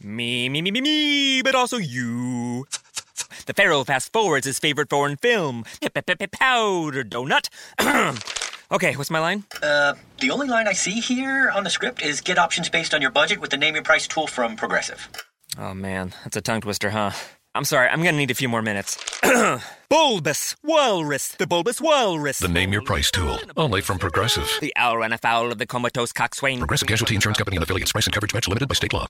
Me, but also you. The Pharaoh fast forwards his favorite foreign film, Powder Donut. Okay, what's my line? The only line I see here on the script is get options based on your budget with the Name Your Price tool from Progressive. Oh man, that's a tongue twister, huh? I'm sorry, I'm gonna need a few more minutes. Bulbous Walrus, the Bulbous Walrus. The Name Your Price tool, only from Progressive. The owl ran afoul of the comatose coxswain. Progressive Casualty Insurance Company and affiliates. Price and coverage match limited by state law.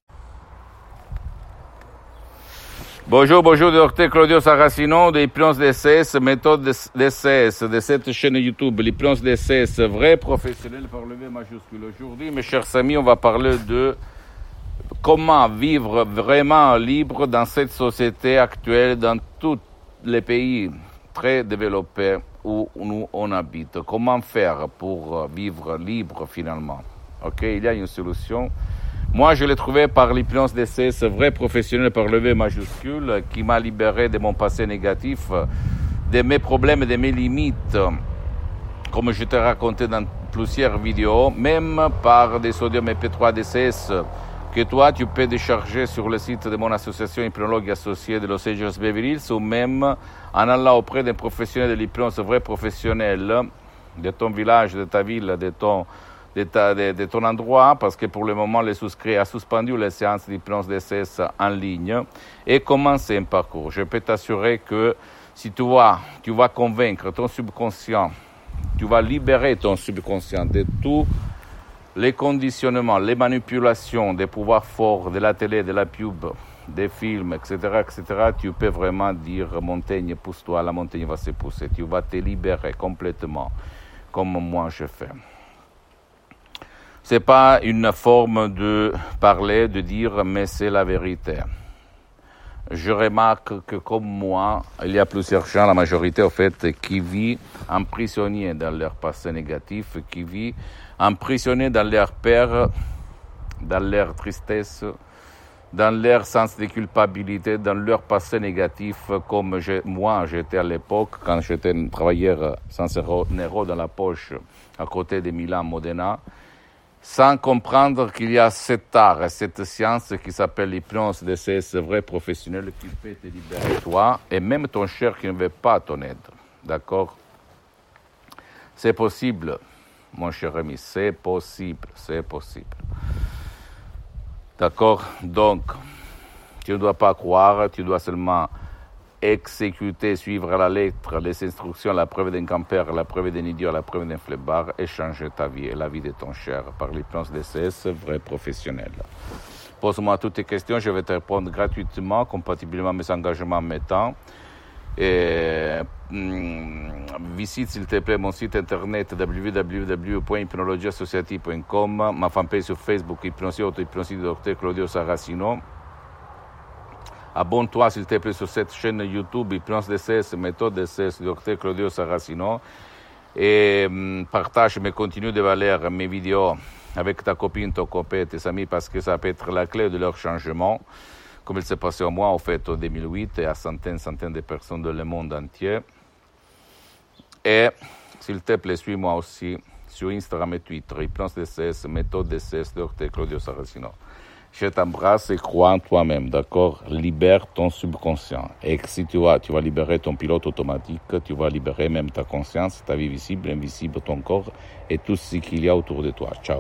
Bonjour, Dr Claudio Saracino de l'hypnose DCS, méthode DCS, de cette chaîne YouTube, l'hypnose DCS, vrai professionnel par le V majuscule. Aujourd'hui, mes chers amis, on va parler de comment vivre vraiment libre dans cette société actuelle, dans tous les pays très développés où nous on habite. Comment faire pour vivre libre finalement? Ok, il y a une solution. Moi, je l'ai trouvé par l'hypnose DCS, vrai professionnel par le V majuscule, qui m'a libéré de mon passé négatif, de mes problèmes et de mes limites, comme je t'ai raconté dans plusieurs vidéos, même par des sodium MP3 DCS, que toi, tu peux décharger sur le site de mon association hypnologue associée de Los Angeles Beverly Hills, ou même en allant auprès d'un professionnel de l'hypnose, vrai professionnel, de ton village, de ta ville, de ton endroit, parce que pour le moment, le souscrit a suspendu les séances d'hypnose DCS en ligne, et commencer un parcours. Je peux t'assurer que si tu vas convaincre ton subconscient, tu vas libérer ton subconscient de tous les conditionnements, les manipulations des pouvoirs forts de la télé, de la pub, des films, etc., tu peux vraiment dire « montagne, pousse-toi, la montagne va se pousser ». Tu vas te libérer complètement, comme moi je fais. C'est pas une forme de parler, de dire, mais c'est la vérité. Je remarque que comme moi, il y a plusieurs gens, la majorité en fait, qui vivent emprisonnés dans leur passé négatif, qui vivent emprisonnés dans leur peur, dans leur tristesse, dans leur sens de culpabilité, dans leur passé négatif, comme moi j'étais à l'époque, quand j'étais un travailleur sans euro dans la poche, à côté de Milan, Modena, sans comprendre qu'il y a cet art et cette science qui s'appelle l'hypnose DCS vrai professionnel qui peut te libérer toi et même ton cher qui ne veut pas ton aide. D'accord? C'est possible, mon cher ami, c'est possible. D'accord? Donc, tu ne dois pas croire, tu dois seulement exécuter, suivre à la lettre les instructions, la preuve d'un campeur, la preuve d'un idiot, la preuve d'un flemmard et changer ta vie et la vie de ton cher par l'hypnose DCS vrai professionnel. Pose-moi toutes tes questions, je vais te répondre gratuitement, compatiblement à mes engagements, mes temps. Et visite s'il te plaît mon site internet www.hypnologieassociative.com, ma fanpage sur Facebook Hypnosie Auto-Hypnosie Dr Claudio Saracino. Abonne-toi s'il te plaît sur cette chaîne YouTube Hypnose DCS, méthode DCS, Dr Claudio Saracino. Et partage mes contenus de valeur, mes vidéos avec ta copine, ton copain, tes amis, parce que ça peut être la clé de leur changement, comme il s'est passé à moi, en fait, en 2008, et à centaines de personnes dans le monde entier. Et s'il te plaît, suis-moi aussi sur Instagram et Twitter, Hypnose DCS, méthode DCS, Dr Claudio Saracino. Je t'embrasse et crois en toi-même, d'accord? Libère ton subconscient. Et si tu vas libérer ton pilote automatique, tu vas libérer même ta conscience, ta vie visible, invisible, ton corps et tout ce qu'il y a autour de toi. Ciao.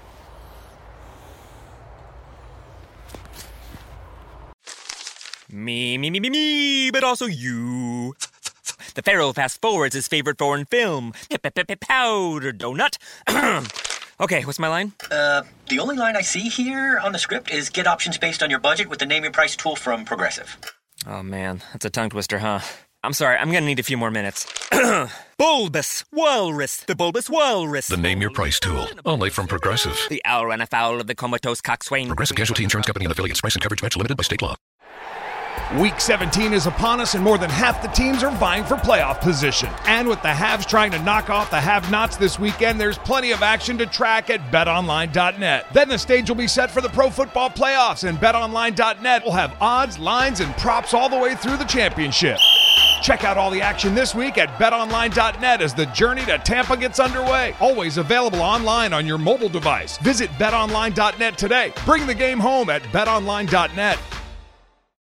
Me, but also you. The Pharaoh fast forwards his favorite foreign film, Powder Donut. Okay, what's my line? The only line I see here on the script is get options based on your budget with the Name Your Price tool from Progressive. Oh man, that's a tongue twister, huh? I'm sorry, I'm gonna need a few more minutes. Bulbous Walrus, the Bulbous Walrus. The Name Your Price tool, only from Progressive. The owl ran afoul of the comatose coxswain. Progressive Casualty Insurance Company and affiliates. Price and coverage match limited by state law. Week 17 is upon us, and more than half the teams are vying for playoff position. And with the haves trying to knock off the have-nots this weekend, there's plenty of action to track at BetOnline.net. Then the stage will be set for the Pro Football Playoffs, and BetOnline.net will have odds, lines, and props all the way through the championship. Check out all the action this week at betonline.net as the journey to Tampa gets underway. Always available online on your mobile device. Visit betonline.net today. Bring the game home at betonline.net.